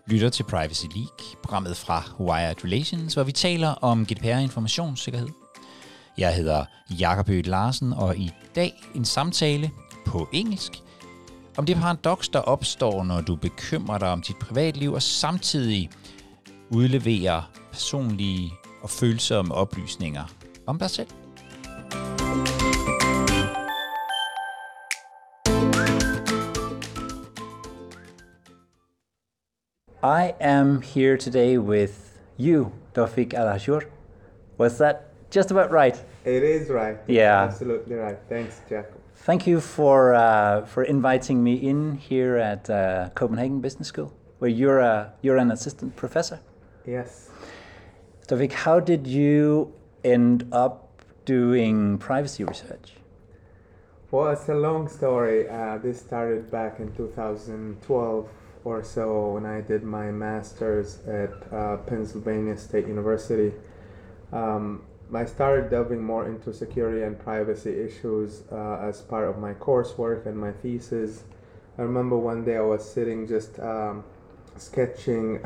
lytter til Privacy League, programmet fra Wired Relations, hvor vi taler om GDPR-informationssikkerhed. Jeg hedder Jakob Ø. Larsen, og i dag en samtale på engelsk om det paradoks, der opstår, når du bekymrer dig om dit privatliv og samtidig udleverer personlige og følsomme oplysninger om dig selv. I am here today with you, Tawfiq Al-Ashur. Was that just about right? It is right. Yeah. Absolutely right. Thanks, Jacob. Thank you for inviting me in here at Copenhagen Business School, where you're an assistant professor. Yes. Tawfiq, how did you end up doing privacy research? Well, it's a long story. This started back in 2012 or so when I did my master's at Pennsylvania State University. I started delving more into security and privacy issues as part of my coursework and my thesis. I remember one day I was sitting just sketching,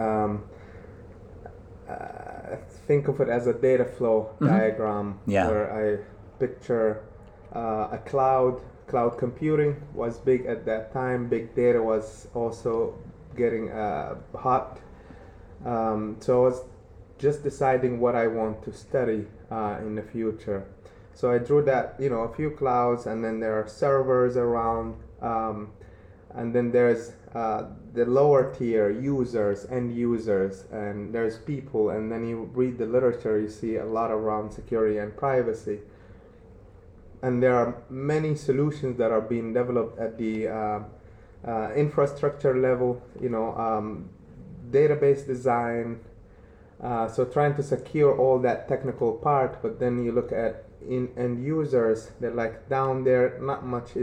think of it as a data flow diagram, where I picture a cloud computing was big at that time. Big data was also getting hot. So I was just deciding what I want to study in the future. So I drew that, a few clouds, and then there are servers around, and then there's the lower tier users, end users, and there's people, and then you read the literature, you see a lot around security and privacy. And there are many solutions that are being developed at the infrastructure level, database design, so trying to secure all that technical part, but then you look at end users, they're like down there, not much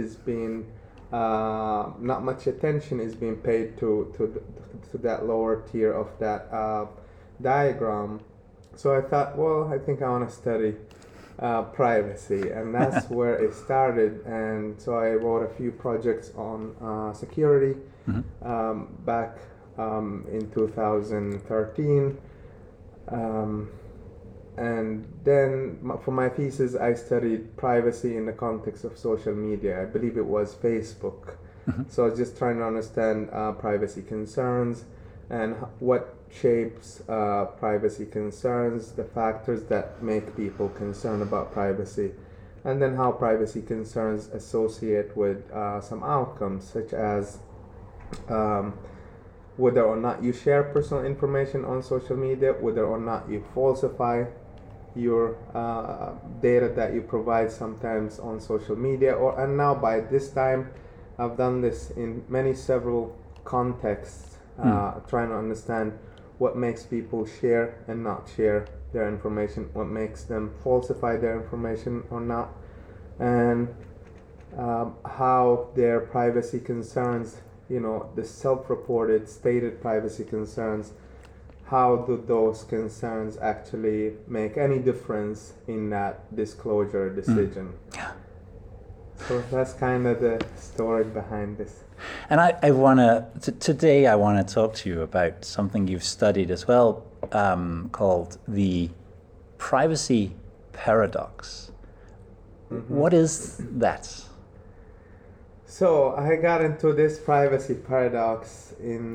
attention is being paid to that lower tier of that diagram. So I thought, well, I think I want to study privacy, and that's where it started. And so I wrote a few projects on security back in 2013. And then for my thesis, I studied privacy in the context of social media. I believe it was Facebook. So I was just trying to understand privacy concerns and what shapes privacy concerns, the factors that make people concerned about privacy, and then how privacy concerns associate with some outcomes, such as whether or not you share personal information on social media, whether or not you falsify your data that you provide sometimes on social media, and now by this time I've done this in several contexts, trying to understand what makes people share and not share their information, what makes them falsify their information or not, and how their privacy concerns, the self-reported, stated privacy concerns, how do those concerns actually make any difference in that disclosure decision? So that's kind of the story behind this. And I want today I want to talk to you about something you've studied as well, called the privacy paradox. What is that? So I got into this privacy paradox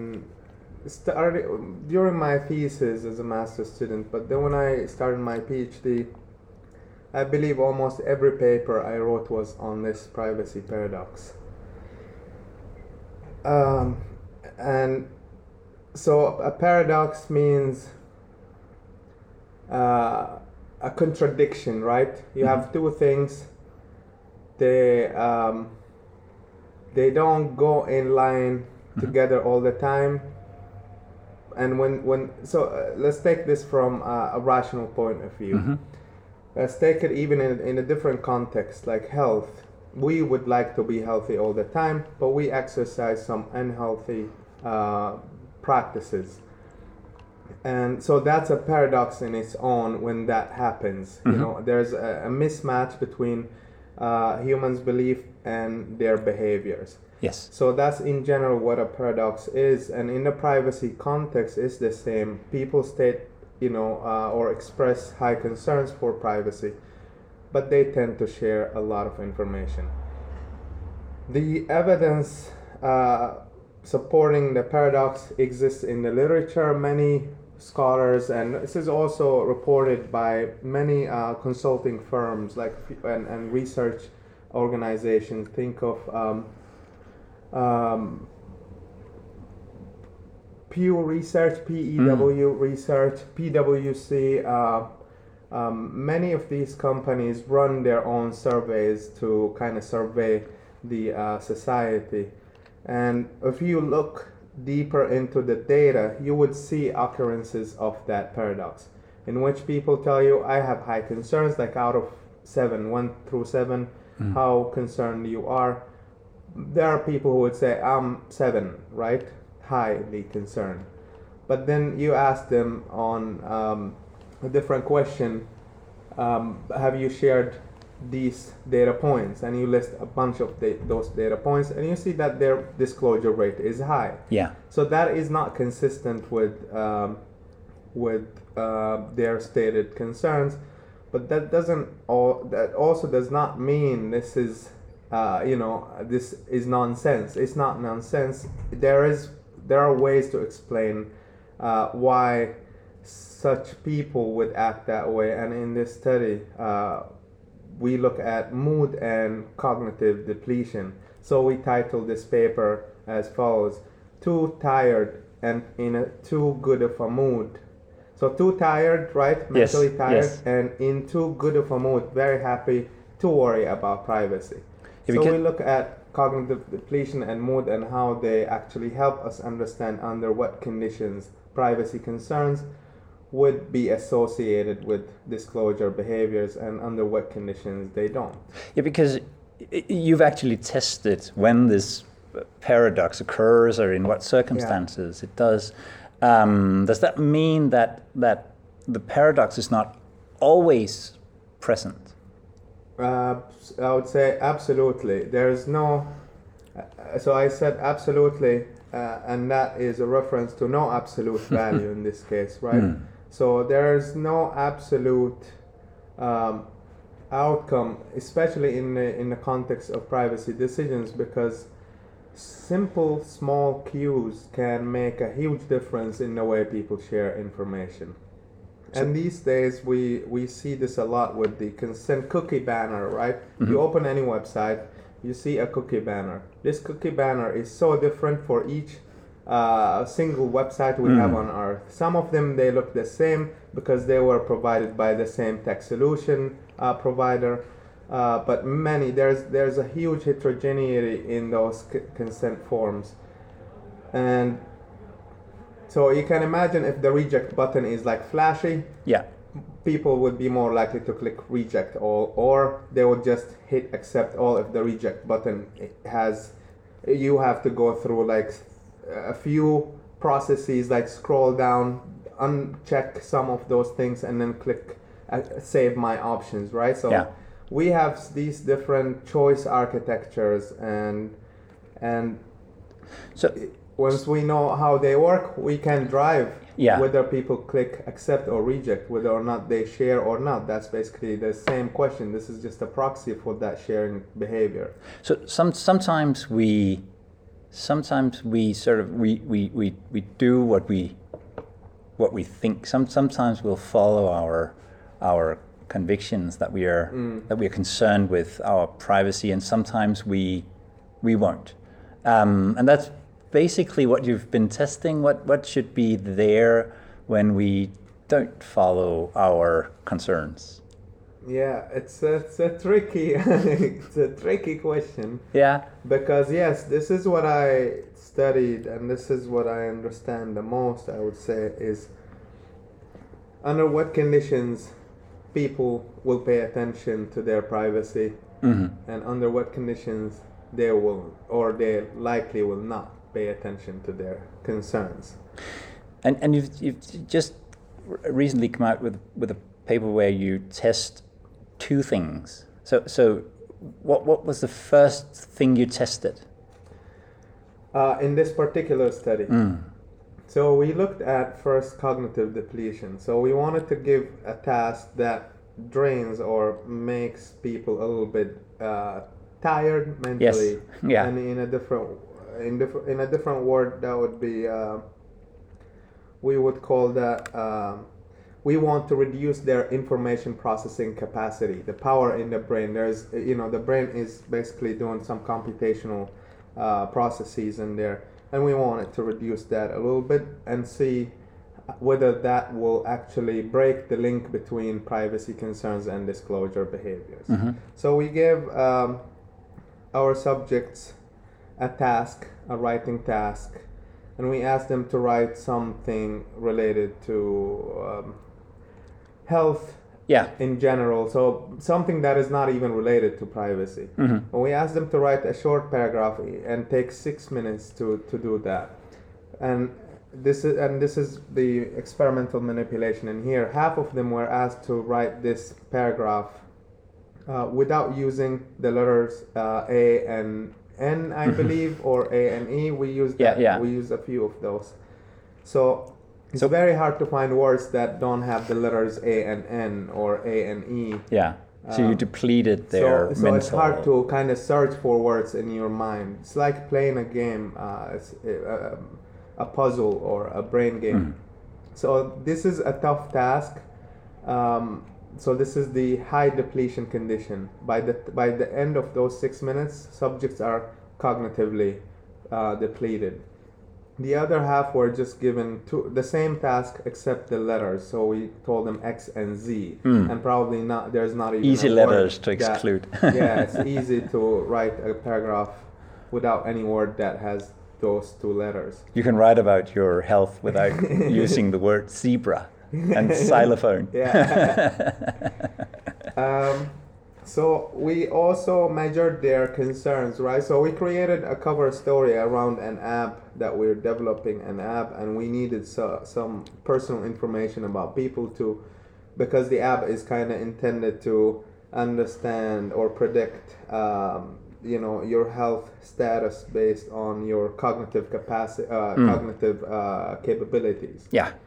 during my thesis as a master's student, but then when I started my PhD, I believe almost every paper I wrote was on this privacy paradox. And so a paradox means a contradiction, right? You have two things, they don't go in line together all the time. And let's take this from a rational point of view. Let's take it even in a different context, like health. We would like to be healthy all the time, but we exercise some unhealthy practices. And so that's a paradox in its own when that happens. There's a mismatch between humans' belief and their behaviors. Yes. So that's in general what a paradox is, and in the privacy context is the same. People state, or express high concerns for privacy, but they tend to share a lot of information. The evidence supporting the paradox exists in the literature. Many scholars, and this is also reported by many consulting firms and research organizations. Think of Pew Research, PEW Research, PwC. Many of these companies run their own surveys to kind of survey the society. And if you look deeper into the data, you would see occurrences of that paradox, in which people tell you, I have high concerns, like out of 1 through 7, how concerned you are. There are people who would say, I'm 7, right? Highly concerned. But then you ask them on a different question, have you shared these data points? And you list a bunch of those data points, and you see that their disclosure rate is high. Yeah. So that is not consistent with their stated concerns. But that also does not mean this is this is nonsense. It's not nonsense. There are ways to explain why such people would act that way. And in this study, we look at mood and cognitive depletion. So we titled this paper as follows: too tired and in a too good of a mood. So too tired, right? Mentally tired, and in too good of a mood, very happy to worry about privacy. So we look at cognitive depletion and mood and how they actually help us understand under what conditions privacy concerns would be associated with disclosure behaviors and under what conditions they don't. Yeah, because you've actually tested when this paradox occurs or in what circumstances it does. Does that mean that the paradox is not always present? I would say absolutely. There's no... So I said absolutely, and that is a reference to no absolute value in this case, right? So there's no absolute outcome, especially in the context of privacy decisions, because simple small cues can make a huge difference in the way people share information. And these days we see this a lot with the consent cookie banner, right? You open any website, you see a cookie banner. This cookie banner is so different for each single website we have on Earth. Some of them, they look the same because they were provided by the same tech solution provider. But many, there's a huge heterogeneity in those consent forms. And so you can imagine if the reject button is like flashy, people would be more likely to click reject all, or they would just hit accept all if the reject button you have to go through like a few processes, like scroll down, uncheck some of those things, and then click save my options, right? So we have these different choice architectures, and so once we know how they work, we can drive whether people click accept or reject, whether or not they share or not. That's basically the same question. This is just a proxy for that sharing behavior. So sometimes we sort of we do what we think. Sometimes we'll follow our convictions that we are concerned with our privacy, and sometimes we won't. And that's basically what you've been testing. What should be there when we don't follow our concerns? Yeah, it's a tricky it's a tricky question. Yeah. Because yes, this is what I studied, and this is what I understand the most, I would say, is under what conditions people will pay attention to their privacy, and under what conditions they will, or they likely will not pay attention to their concerns. And you've just recently come out with a paper where you test two things. So what was the first thing you tested? In this particular study. So we looked at first cognitive depletion. So we wanted to give a task that drains or makes people a little bit tired mentally. Yes. Yeah. And in a different word, that would be we would call that we want to reduce their information processing capacity, the power in the brain. There's the brain is basically doing some computational processes in there, and we wanted to reduce that a little bit and see whether that will actually break the link between privacy concerns and disclosure behaviors. So we gave our subjects a task, a writing task, and we asked them to write something related to health in general, so something that is not even related to privacy. We asked them to write a short paragraph and take 6 minutes to do that. And this is the experimental manipulation in here. Half of them were asked to write this paragraph without using the letters A and N, I believe, or A and E. We used we used a few of those. So it's very hard to find words that don't have the letters A and N or A and E. Yeah. So you depleted their mental... So it's hard to kind of search for words in your mind. It's like playing a game, a puzzle or a brain game. So this is a tough task. So this is the high depletion condition. By the end of those 6 minutes, subjects are cognitively depleted. The other half were just given the same task except the letters. So we told them X and Z, and probably not. There's not even easy letters to exclude. It's easy to write a paragraph without any word that has those two letters. You can write about your health without using the word zebra and xylophone. So we also measured their concerns, right? So we created a cover story around an app that we're developing, and we needed some personal information about people because the app is kind of intended to understand or predict your health status based on your cognitive capacity, cognitive capabilities.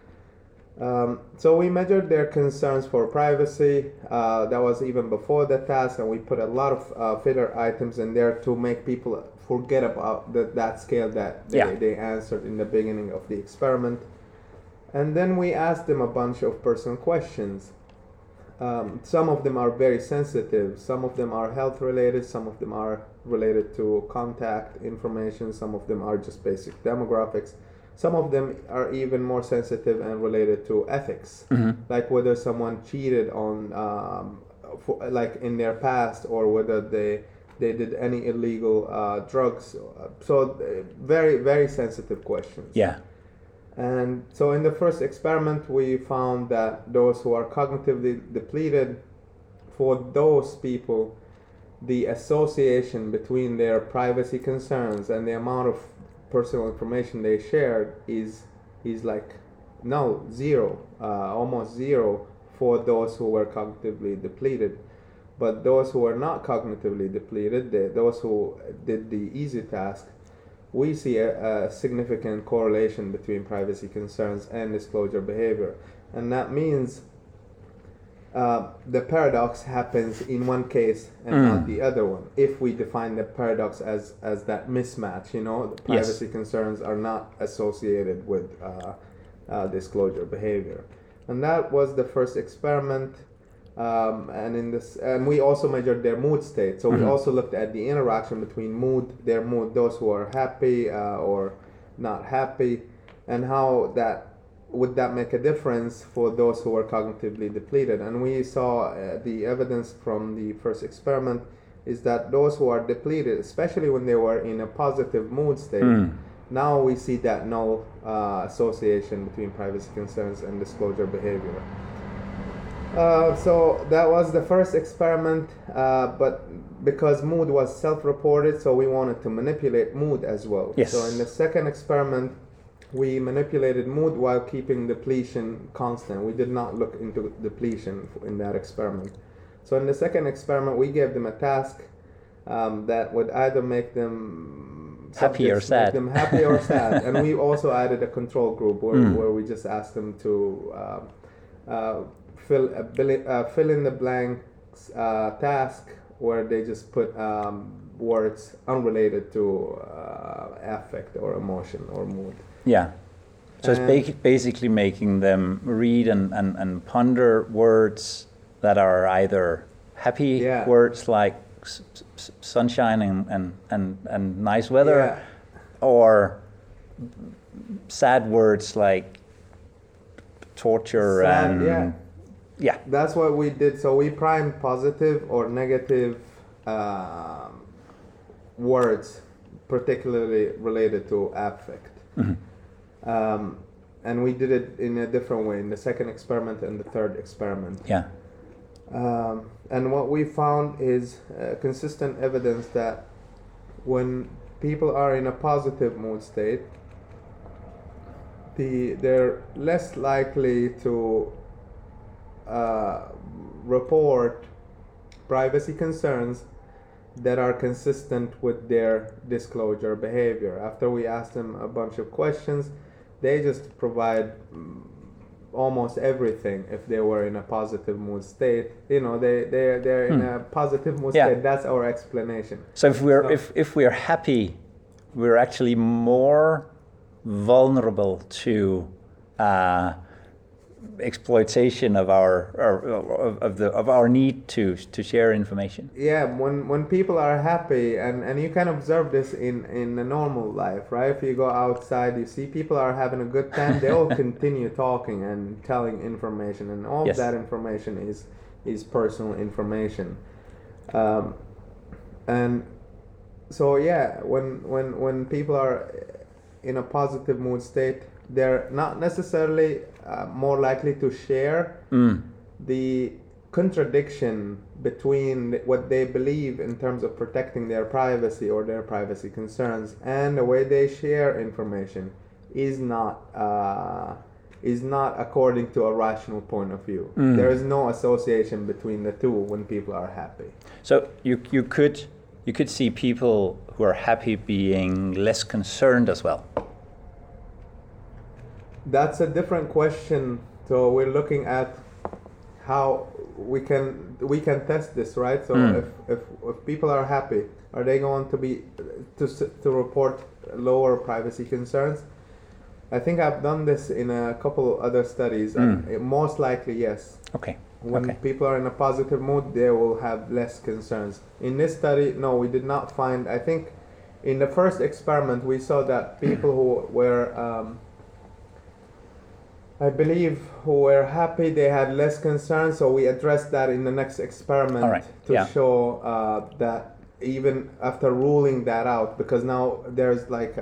So we measured their concerns for privacy. That was even before the task, and we put a lot of filler items in there to make people forget about that scale that they answered in the beginning of the experiment. And then we asked them a bunch of personal questions. Some of them are very sensitive, some of them are health related, some of them are related to contact information, some of them are just basic demographics. Some of them are even more sensitive and related to ethics, like whether someone cheated on, like in their past, or whether they did any illegal drugs. So very, very sensitive questions. And so in the first experiment, we found that those who are cognitively depleted, for those people, the association between their privacy concerns and the amount of personal information they shared is like zero, almost zero for those who were cognitively depleted. But those who are not cognitively depleted, those who did the easy task, we see a significant correlation between privacy concerns and disclosure behavior. And that means the paradox happens in one case and not the other one. If we define the paradox as that mismatch, the privacy concerns are not associated with disclosure behavior. And that was the first experiment. And we also measured their mood state. So we also looked at the interaction between their mood, those who are happy or not happy, and how would that make a difference for those who are cognitively depleted. And we saw the evidence from the first experiment is that those who are depleted, especially when they were in a positive mood state, now we see that null association between privacy concerns and disclosure behavior. So that was the first experiment, but because mood was self-reported, so we wanted to manipulate mood as well. So in the second experiment, we manipulated mood while keeping depletion constant. We did not look into depletion in that experiment. So in the second experiment, we gave them a task that would either make them happy or subjects sad. make them happy or sad. And we also added a control group where we just asked them to fill in the blanks task where they just put words unrelated to affect or emotion or mood. Yeah. So it's basically making them read and ponder words that are either happy words like sunshine and nice weather, or sad words like torture and yeah. That's what we did. So we primed positive or negative words, particularly related to affect. Mm-hmm. And we did it in a different way in the second experiment and the third experiment. Yeah. And what we found is consistent evidence that when people are in a positive mood state, they're less likely to report privacy concerns that are consistent with their disclosure behavior. After we asked them a bunch of questions, they just provide almost everything if they were in a positive mood state. You know, they're in a positive mood state. That's our explanation. So if we're happy, we're actually more vulnerable to exploitation of our need to share information. Yeah, when people are happy, and you can observe this in a normal life, right? If you go outside, you see people are having a good time, they'll continue talking and telling information, and all of that information is personal information. And so when people are in a positive mood state, they're not necessarily more likely to share the contradiction between what they believe in terms of protecting their privacy or their privacy concerns and the way they share information is not according to a rational point of view. There is no association between the two when people are happy. So you could see people who are happy being less concerned as well. That's a different question. So we're looking at how we can test this, right? So if people are happy, are they going to be to report lower privacy concerns? I think I've done this in a couple other studies. And most likely, yes. Okay. When people are in a positive mood, they will have less concerns. In this study, no, we did not find. I think in the first experiment, we saw that people who were who were happy, they had less concerns, so we addressed that in the next experiment to show that even after ruling that out, because now there's like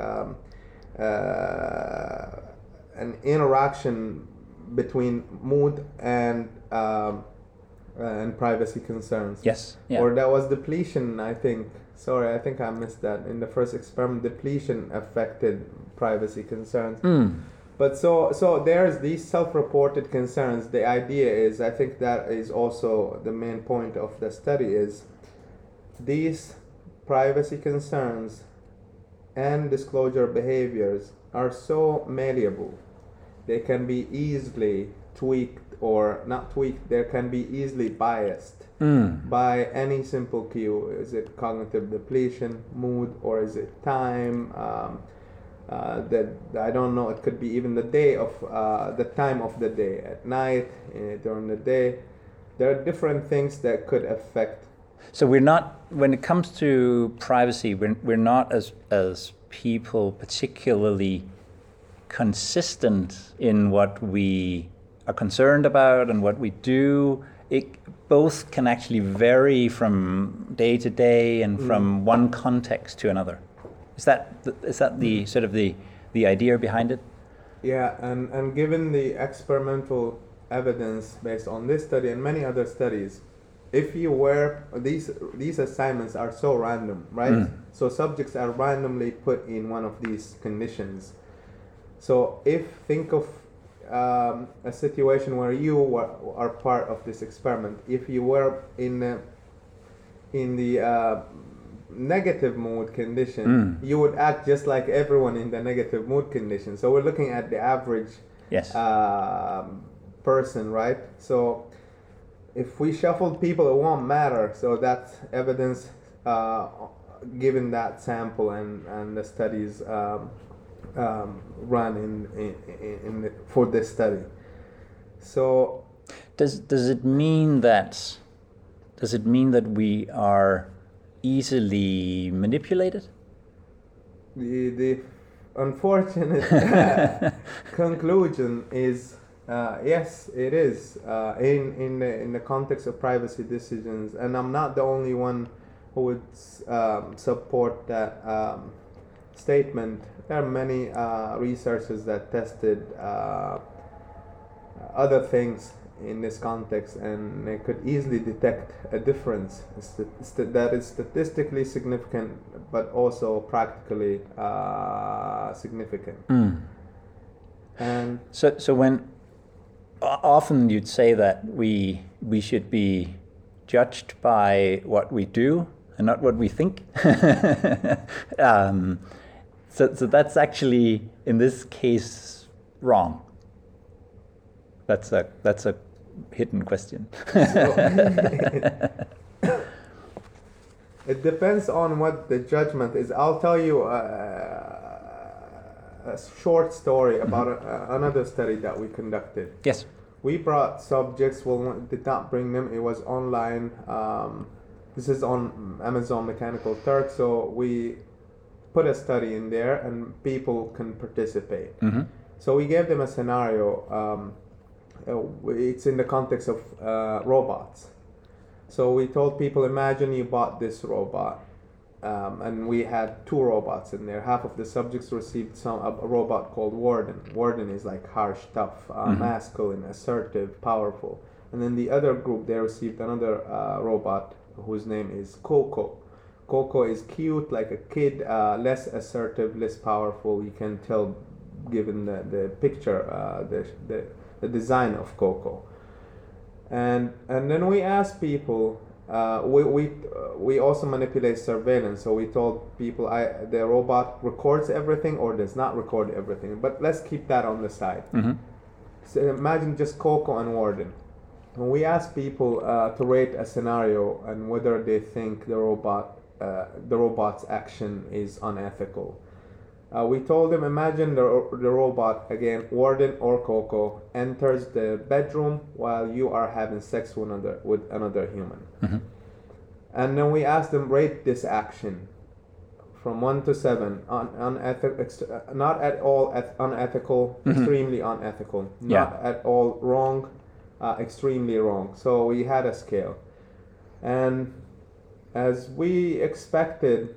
an interaction between mood and privacy concerns. Yes. Yeah. Or that was depletion, I think. Sorry, I think I missed that. In the first experiment, depletion affected privacy concerns. But so there's these self-reported concerns. The idea is, I think that is also the main point of the study, is these privacy concerns and disclosure behaviors are so malleable. They can be easily tweaked or not tweaked. They can be easily biased by any simple cue. Is it cognitive depletion, mood, or is it time? That I don't know. It could be even the day of the time of the day, at night, during the day. There are different things that could affect. So we're not, when it comes to privacy, we're not as people particularly consistent in what we are concerned about and what we do. It both can actually vary from day to day and from one context to another. Is that the sort of the idea behind it? Yeah, and given the experimental evidence based on this study and many other studies, if you were these assignments are so random, right? So subjects are randomly put in one of these conditions. So think of a situation where you are part of this experiment. If you were in the negative mood condition, you would act just like everyone in the negative mood condition. So we're looking at the average person, right? So if we shuffled people, it won't matter. So that's evidence given that sample and the studies run for this study. So does it mean that we are easily manipulated? The unfortunate conclusion is yes, it is in the context of privacy decisions, and I'm not the only one who would support that statement. There are many researchers that tested other things in this context, and they could easily detect a difference that is statistically significant, but also practically significant. And so when often you'd say that we should be judged by what we do and not what we think. So that's actually in this case wrong. That's a hidden question. It depends on what the judgment is. I'll tell you a short story about another study that we conducted. Yes. We brought subjects, well, did not bring them, it was online. This is on Amazon Mechanical Turk, so we put a study in there and people can participate. So we gave them a scenario. It's in the context of robots. So we told people, imagine you bought this robot, and we had 2 robots in there. Half of the subjects received a robot called Warden. Warden is like harsh, tough, masculine, assertive, powerful. And then the other group, they received another robot whose name is Coco. Coco is cute, like a kid, less assertive, less powerful. You can tell given the picture, the design of Coco. And then we asked people, we also manipulate surveillance. So we told people the robot records everything or does not record everything. But let's keep that on the side. So imagine just Coco and Warden. When we asked people to rate a scenario and whether they think the robot's action is unethical. We told them, imagine the robot, again, Warden or Coco, enters the bedroom while you are having sex with another human. And then we asked them, rate this action from 1 to 7. Not at all unethical, extremely unethical. Not at all wrong, extremely wrong. So we had a scale. And as we expected,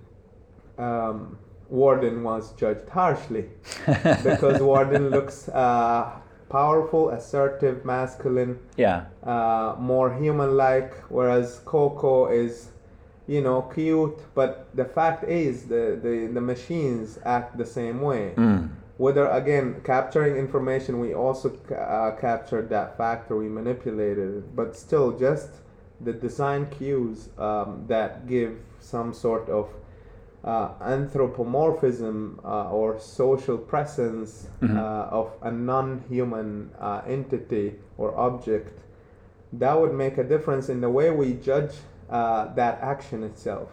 Warden was judged harshly because Warden looks powerful, assertive, masculine, more human-like, whereas Coco is, cute. But the fact is, the machines act the same way. Whether, again, capturing information, we also captured that factor, we manipulated it, but still just the design cues that give some sort of anthropomorphism or social presence of a non-human entity or object, that would make a difference in the way we judge that action itself.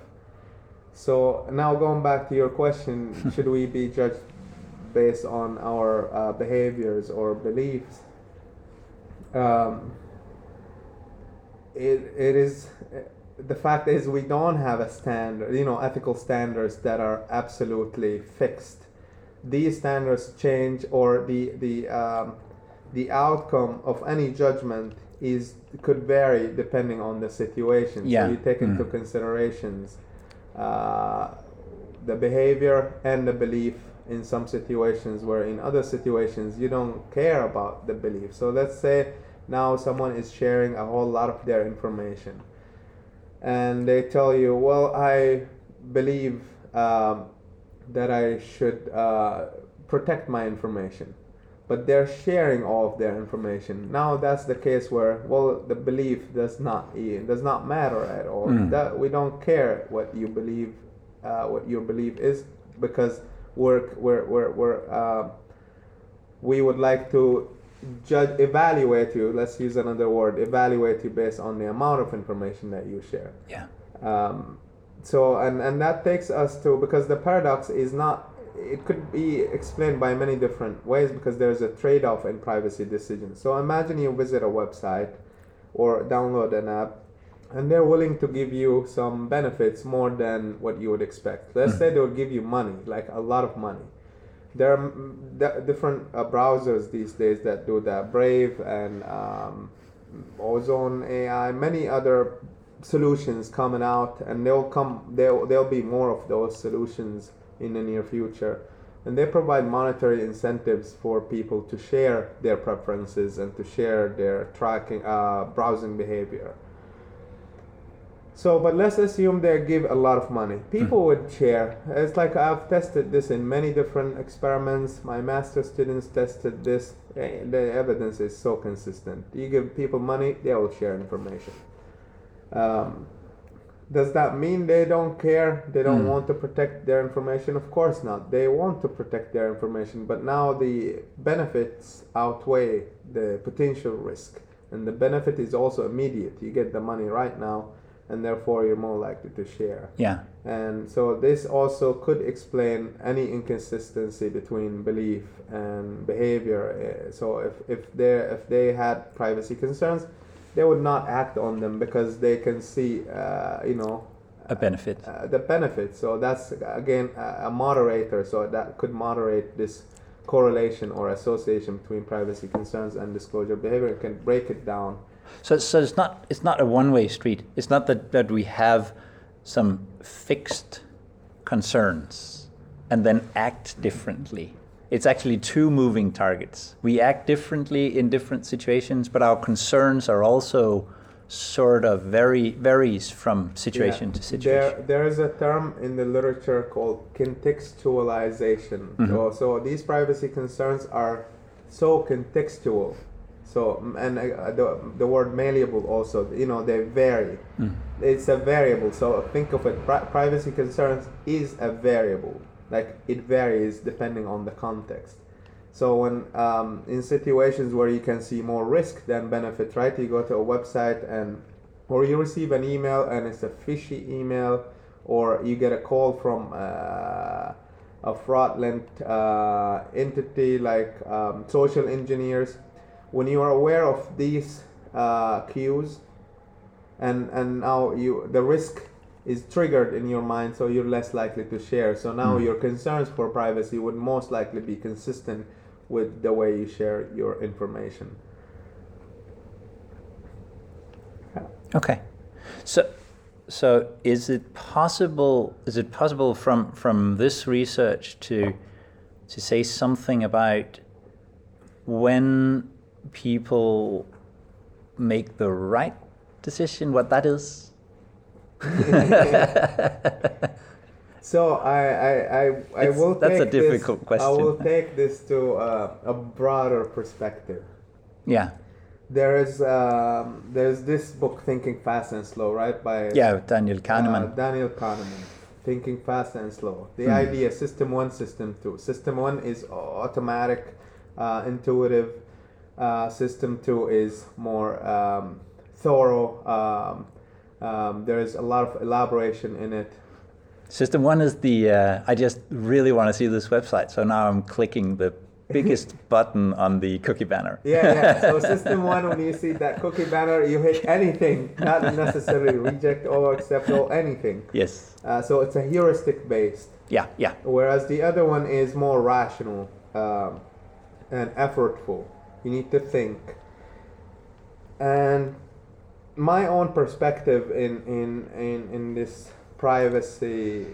So now going back to your question, should we be judged based on our behaviors or beliefs? It is... The fact is, we don't have a standard, ethical standards that are absolutely fixed. These standards change, or the outcome of any judgment could vary depending on the situation. So you take into considerations the behavior and the belief in some situations, where in other situations you don't care about the belief. So let's say now someone is sharing a whole lot of their information. And they tell you, well, I believe that I should protect my information. But they're sharing all of their information. Now that's the case where, well, the belief does not matter at all. That we don't care what you believe what your belief is, because we would like to evaluate you. Let's use another word. Evaluate you based on the amount of information that you share. Yeah. So and that takes us to, because the paradox is not. It could be explained by many different ways, because there's a trade-off in privacy decisions. So imagine you visit a website or download an app, and they're willing to give you some benefits more than what you would expect. Let's say they'll give you money, like a lot of money. There are different browsers these days that do that. Brave and Ozone AI, many other solutions coming out, and there'll be more of those solutions in the near future. And they provide monetary incentives for people to share their preferences and to share their tracking, browsing behavior. So, but let's assume they give a lot of money. People would share. It's like I've tested this in many different experiments. My master students tested this. The evidence is so consistent. You give people money, they will share information. Does that mean they don't care? They don't want to protect their information? Of course not. They want to protect their information, but now the benefits outweigh the potential risk. And the benefit is also immediate. You get the money right now, and therefore you're more likely to share. Yeah. And so this also could explain any inconsistency between belief and behavior. So if they had privacy concerns, they would not act on them because they can see, a benefit. The benefit. So that's again a moderator. So that could moderate this correlation or association between privacy concerns and disclosure behavior. It can break it down. So it's not a one-way street. It's not that we have some fixed concerns and then act differently. It's actually two moving targets. We act differently in different situations, but our concerns are also sort of varies from situation to situation. There is a term in the literature called contextualization. So these privacy concerns are so contextual. So, and the word malleable also, they vary. It's a variable. So think of it, privacy concerns is a variable. Like it varies depending on the context. So when in situations where you can see more risk than benefit, right? You go to a website or you receive an email and it's a fishy email, or you get a call from a fraudulent entity like social engineers. When you are aware of these cues, and now the risk is triggered in your mind, so you're less likely to share. So now your concerns for privacy would most likely be consistent with the way you share your information. Okay, so is it possible from this research to say something about when people make the right decision, what that is? So I will. That's a difficult question. I will take this to a broader perspective. Yeah. There's this book, Thinking Fast and Slow, right? By Daniel Kahneman. Daniel Kahneman, Thinking Fast and Slow. The idea, System 1, System 2. System 1 is automatic, intuitive. System 2 is more thorough. There is a lot of elaboration in it. System 1 is I just really want to see this website, so now I'm clicking the biggest button on the cookie banner. Yeah. So System 1, when you see that cookie banner, you hit anything, not necessarily reject or accept or anything. Yes. So it's a heuristic based. Yeah. Whereas the other one is more rational and effortful. You need to think. And my own perspective in this privacy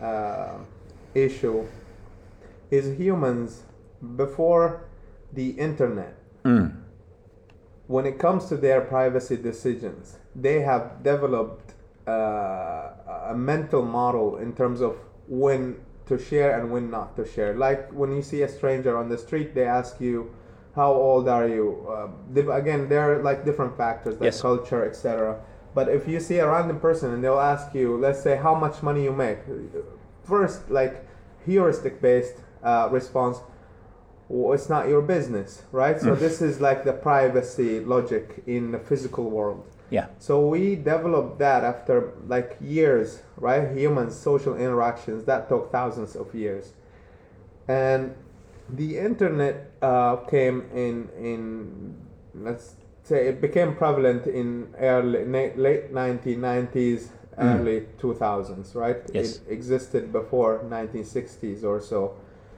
issue is humans before the internet. When it comes to their privacy decisions, they have developed a mental model in terms of when to share and when not to share. Like when you see a stranger on the street, they ask you, how old are you? Again, there are like different factors like culture, etc. But if you see a random person and they'll ask you, let's say, how much money you make, first like heuristic based response. Well, it's not your business, right? So this is like the privacy logic in the physical world. Yeah. So we developed that after like years, right? Humans, social interactions, that took thousands of years. And the internet came in let's say it became prevalent in late 1990s, early 2000s, right? Yes. It existed before 1960s or so.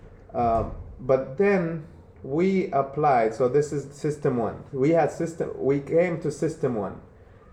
But then we applied, so this is system one. We came to system one.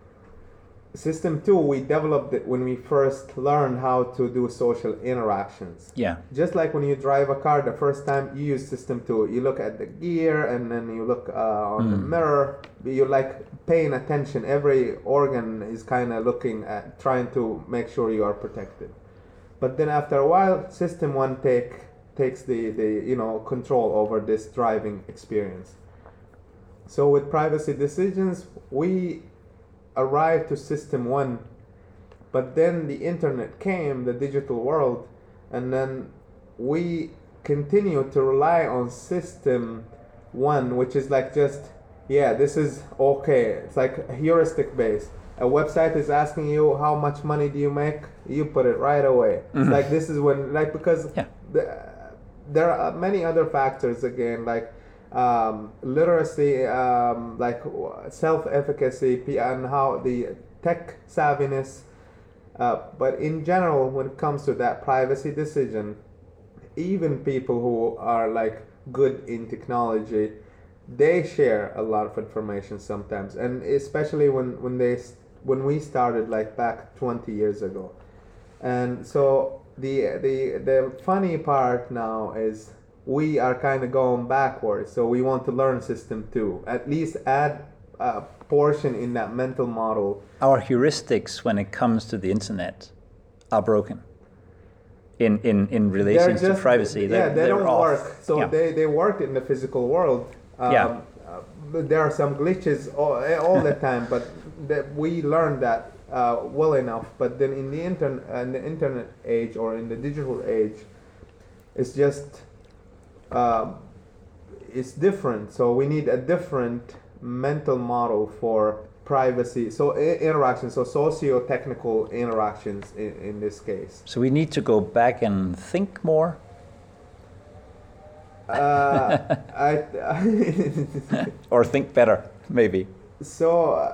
System two, we developed it when we first learned how to do social interactions. Yeah. Just like when you drive a car the first time, you use system two. You look at the gear and then you look on the mirror. You're like paying attention. Every organ is kind of looking at, trying to make sure you are protected. But then after a while, system one takes the control over this driving experience. So with privacy decisions, we arrived to system one, but then the internet came, the digital world, and then we continue to rely on system one, which is like just, this is okay. It's like heuristic based. A website is asking you how much money do you make, you put it right away. It's like this is when, like, because there are many other factors again, like literacy, like self-efficacy, and how the tech savviness. But in general, when it comes to that privacy decision, even people who are like good in technology, they share a lot of information sometimes, and especially when we started like back 20 years ago. And so the funny part now is we are kind of going backwards, so we want to learn system two, at least add a portion in that mental model. Our heuristics when it comes to the internet are broken in relation to privacy. They don't off. work. So they work in the physical world. There are some glitches all the time, but we learned that well enough. But then in the internet age, or in the digital age, it's just it's different. So we need a different mental model for privacy. So interactions, so socio-technical interactions in this case. So we need to go back and think more. Or think better, maybe. So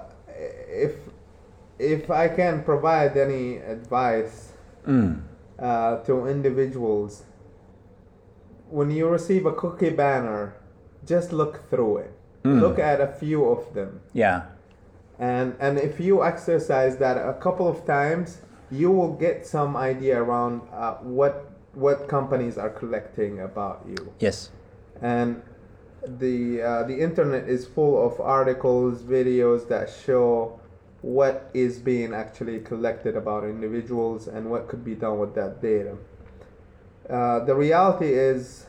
if I can provide any advice to individuals, when you receive a cookie banner, just look through it. Look at a few of them. Yeah. And if you exercise that a couple of times, you will get some idea around what companies are collecting about you. Yes. And the internet is full of articles, videos that show what is being actually collected about individuals and what could be done with that data. The reality is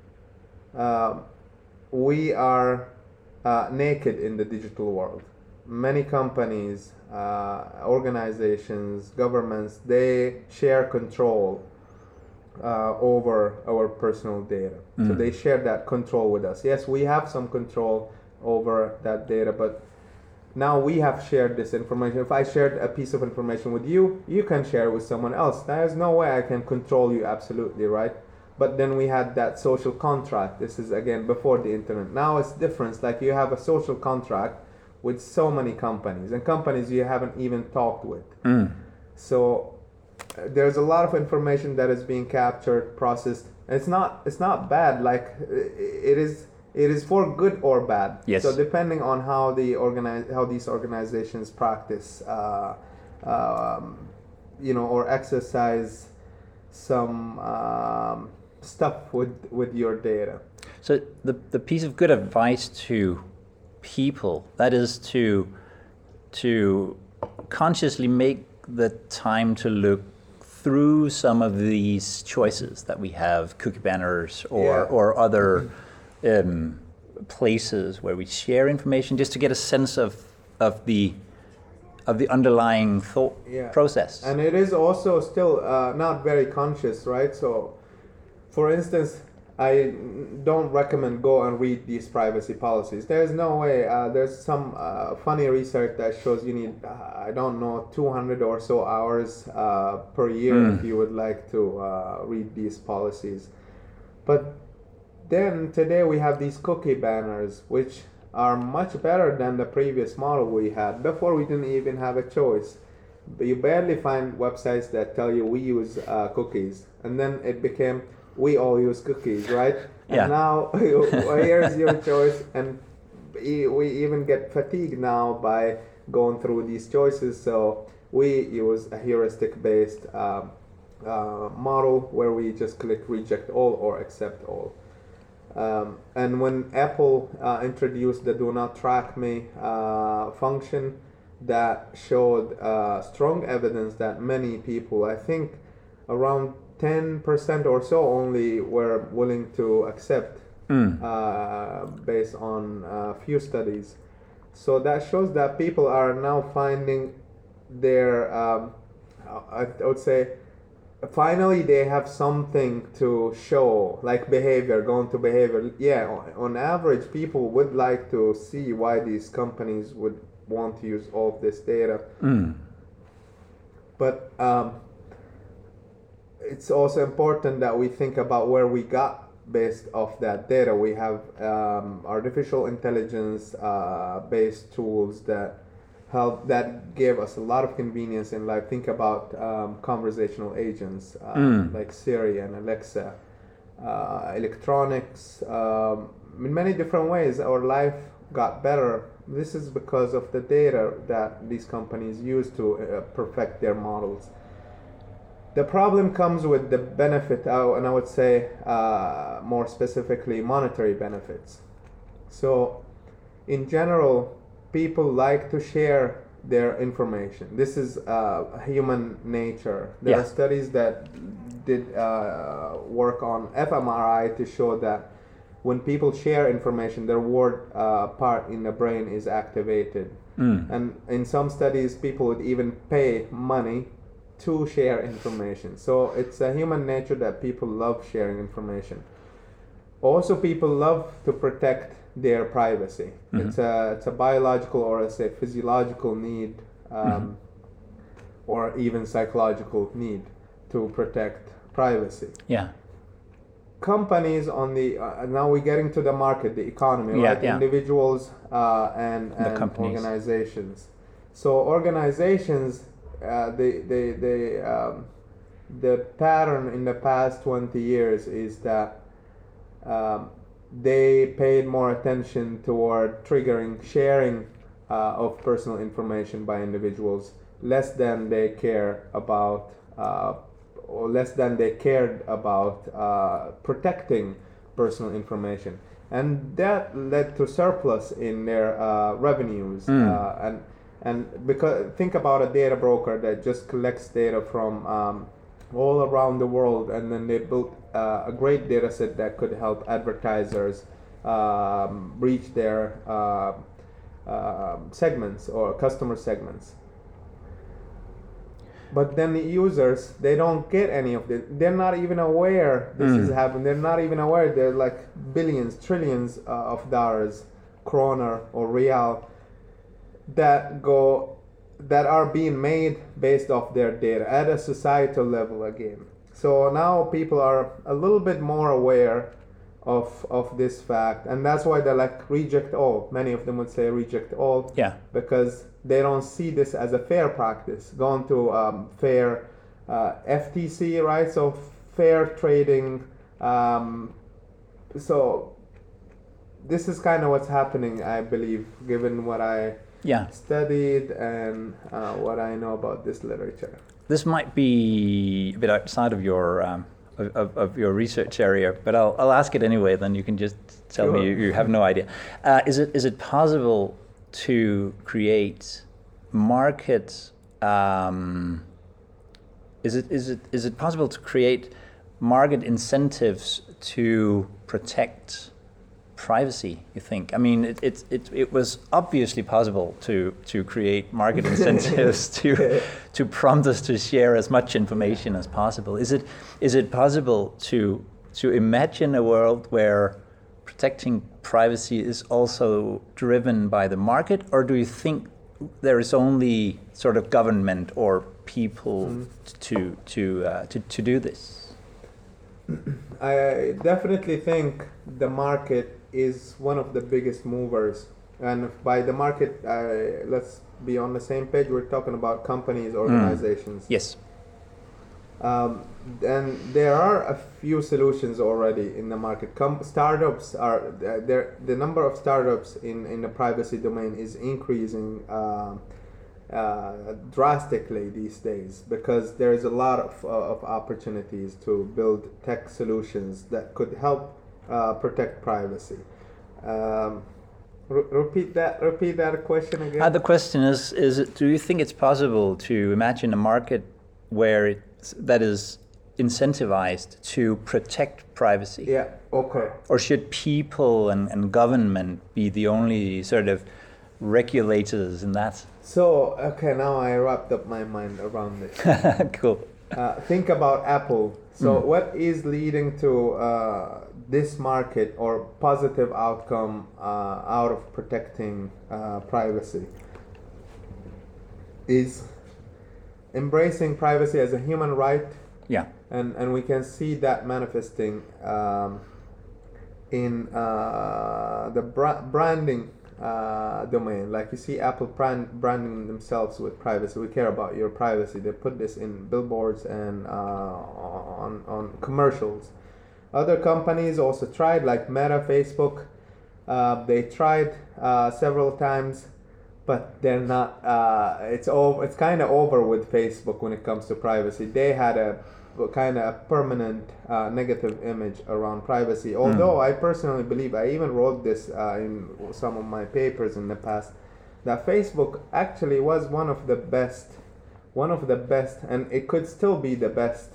we are naked in the digital world. Many companies, organizations, governments, they share control over our personal data. So they share that control with us. Yes, we have some control over that data, but now we have shared this information. If I shared a piece of information with you, you can share it with someone else. There's no way I can control you absolutely, right? But then we had that social contract. This is again before the internet. Now it's different. Like you have a social contract with so many companies, and companies you haven't even talked with. So there's a lot of information that is being captured, processed. It's not bad. Like it is for good or bad. Yes. So depending on how these organizations practice, or exercise some stuff with your data. So the piece of good advice to people, that is to consciously make the time to look through some of these choices that we have, cookie banners or other places where we share information, just to get a sense of the of the underlying thought process. And it is also still not very conscious, right? So, for instance, I don't recommend go and read these privacy policies. There's no way. There's some funny research that shows you need, 200 or so hours per year if you would like to read these policies. But then today we have these cookie banners, which are much better than the previous model we had. Before we didn't even have a choice. But you barely find websites that tell you we use cookies. And then it became we all use cookies, right? And now here's your choice. And we even get fatigued now by going through these choices. So we use a heuristic-based model where we just click reject all or accept all. And when Apple introduced the do not track me function, that showed strong evidence that many people, I think around 10% or so only, were willing to accept based on a few studies. So that shows that people are now finding their, I would say, finally they have something to show, like behavior, going to behavior. Yeah, on average, people would like to see why these companies would want to use all of this data. But it's also important that we think about where we got based off that data. We have artificial intelligence based tools that give us a lot of convenience in life. Think about conversational agents like Siri and Alexa, electronics. In many different ways, our life got better. This is because of the data that these companies use to perfect their models. The problem comes with the benefit, and I would say more specifically monetary benefits. So in general, people like to share their information. This is human nature. There are studies that did work on fMRI to show that when people share information, the reward part in the brain is activated. And in some studies, people would even pay money to share information. So it's a human nature that people love sharing information. Also, people love to protect their privacy. It's a biological or let's say physiological need, or even psychological need to protect privacy. Companies on the now we're getting to the market, the economy, right? Individuals and organizations. So organizations, the pattern in the past 20 years is that they paid more attention toward triggering sharing of personal information by individuals, less than they cared about protecting personal information, and that led to surplus in their revenues. And because think about a data broker that just collects data from all around the world, and then they built a great data set that could help advertisers reach their segments or customer segments. But then the users, they don't get any of it. They're not even aware this is happening. They're not even aware they're like billions, trillions of dollars, kroner or real, that are being made based off their data at a societal level again. So now people are a little bit more aware of this fact, and that's why they're like reject all. Many of them would say reject all, because they don't see this as a fair practice. Going to fair FTC, right? So fair trading. So this is kind of what's happening, I believe, given what I studied and what I know about this literature. This might be a bit outside of your of your research area, but I'll ask it anyway. Then you can just tell me you have no idea. Is it possible to create market? Is it possible to create market incentives to protect privacy, you think? I mean, it was obviously possible to create market incentives to prompt us to share as much information as possible. Is it possible to imagine a world where protecting privacy is also driven by the market, or do you think there is only sort of government or people to do this? I definitely think the market is one of the biggest movers, and by the market, let's be on the same page. We're talking about companies, organizations. Yes. And there are a few solutions already in the market. Startups are there. The number of startups in the privacy domain is increasing drastically these days, because there is a lot of opportunities to build tech solutions that could help protect privacy. Repeat that question again. The question is do you think it's possible to imagine a market where that is incentivized to protect privacy? Yeah, okay. Or should people and government be the only sort of regulators in that? So, okay, now I wrapped up my mind around this. Cool. Think about Apple. So what is leading to this market or positive outcome out of protecting privacy is embracing privacy as a human right. Yeah. And we can see that manifesting in the branding domain. Like you see Apple branding themselves with privacy. We care about your privacy. They put this in billboards and on commercials. Other companies also tried, like Meta, Facebook. They tried several times, but they're not. It's kind of over with Facebook when it comes to privacy. They had a kind of permanent negative image around privacy. Although I personally believe, I even wrote this in some of my papers in the past, that Facebook actually was one of the best, and it could still be the best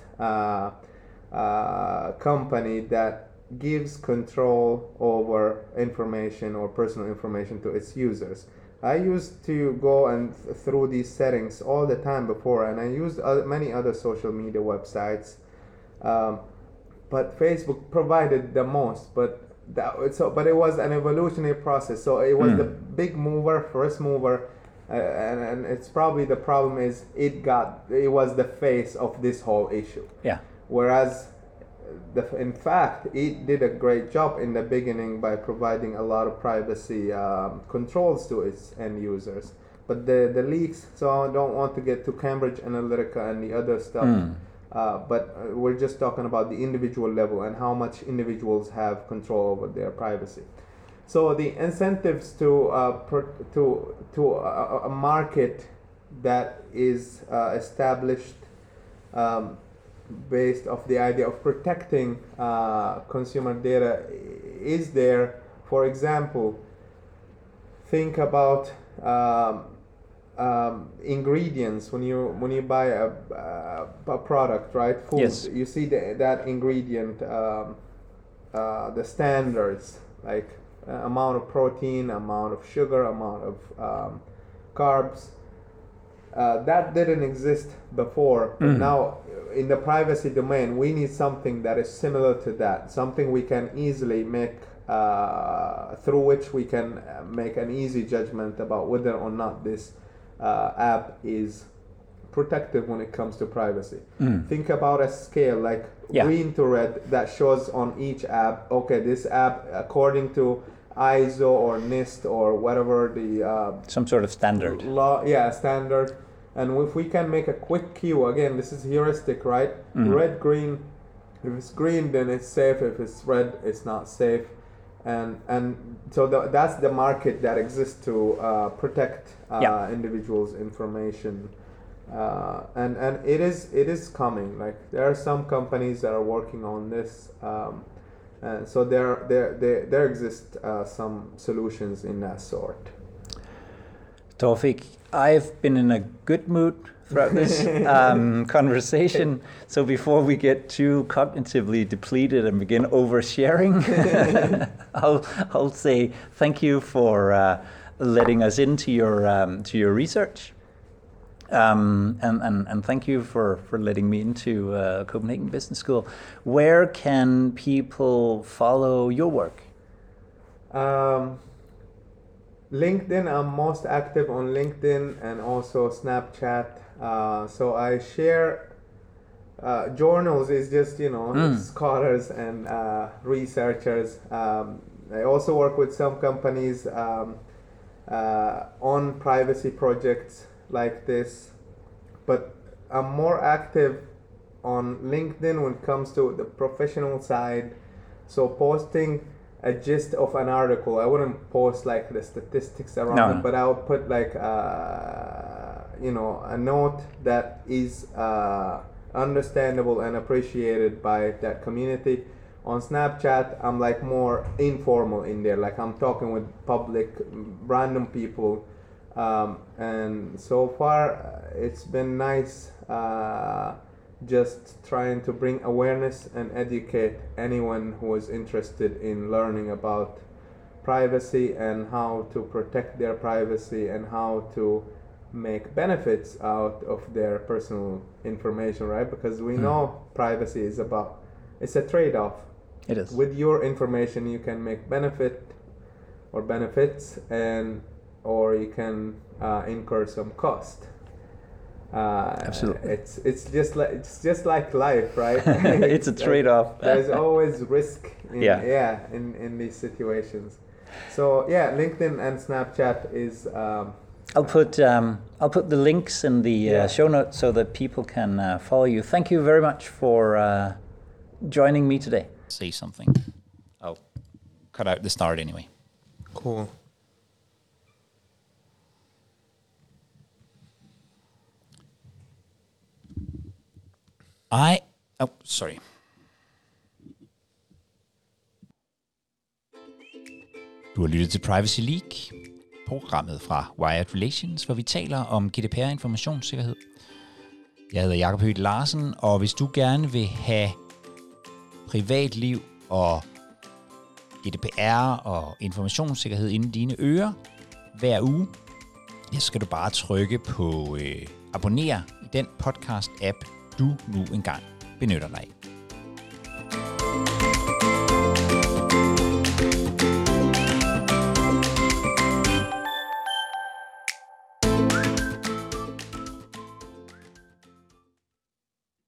company that gives control over information or personal information to its users. I used to go and through these settings all the time before, and I used many other social media websites, but Facebook provided the most. But it was an evolutionary process. So it was the big mover, first mover, and it's probably the problem is it was the face of this whole issue. Yeah. Whereas in fact, it did a great job in the beginning by providing a lot of privacy controls to its end users. But the leaks, so I don't want to get to Cambridge Analytica and the other stuff, but we're just talking about the individual level and how much individuals have control over their privacy. So the incentives to a market that is established based off the idea of protecting consumer data is there. For example, think about ingredients. When you buy a product, right? Food. Yes. You see that ingredient, the standards, like amount of protein, amount of sugar, amount of carbs. That didn't exist before, but now in the privacy domain, we need something that is similar to that, something we can easily make, through which we can make an easy judgment about whether or not this app is protective when it comes to privacy. Think about a scale like green to red that shows on each app, okay, this app according to ISO or NIST or whatever the some sort of standard law, standard. And if we can make a quick queue, again, this is heuristic, right? Red, green. If it's green, then it's safe. If it's red, it's not safe. And so that's the market that exists to protect individuals' information. And it is coming. Like there are some companies that are working on this. And so there exist some solutions in that sort. Tawfik, I've been in a good mood throughout this conversation. So before we get too cognitively depleted and begin oversharing, I'll say thank you for letting us into your research. And thank you for letting me into Copenhagen Business School. Where can people follow your work? LinkedIn, I'm most active on LinkedIn and also Snapchat. So I share journals is just, scholars and researchers. I also work with some companies on privacy projects like this, but I'm more active on LinkedIn when it comes to the professional side. So posting a gist of an article, I wouldn't post like the statistics around it, but I would put like a note that is understandable and appreciated by that community. On Snapchat, I'm like more informal in there, like I'm talking with public, random people. And so far it's been nice, just trying to bring awareness and educate anyone who is interested in learning about privacy and how to protect their privacy and how to make benefits out of their personal information, right? Because we know privacy is it's a trade-off. It is. With your information you can make benefits, or you can incur some cost. Absolutely. It's just like life, right? It's a trade-off. There's always risk in these situations. So LinkedIn and Snapchat is. I'll put the links in the show notes so that people can follow you. Thank you very much for joining me today. Say something. I'll cut out the start anyway. Cool. Sorry. Du har lyttet til Privacy League, programmet fra Wired Relations, hvor vi taler om GDPR-informationssikkerhed. Jeg hedder Jakob Høgh Larsen, og hvis du gerne vil have privatliv og GDPR og informationssikkerhed inde i dine ører hver uge, så skal du bare trykke på abonner i den podcast-app, du nu engang benytter dig af.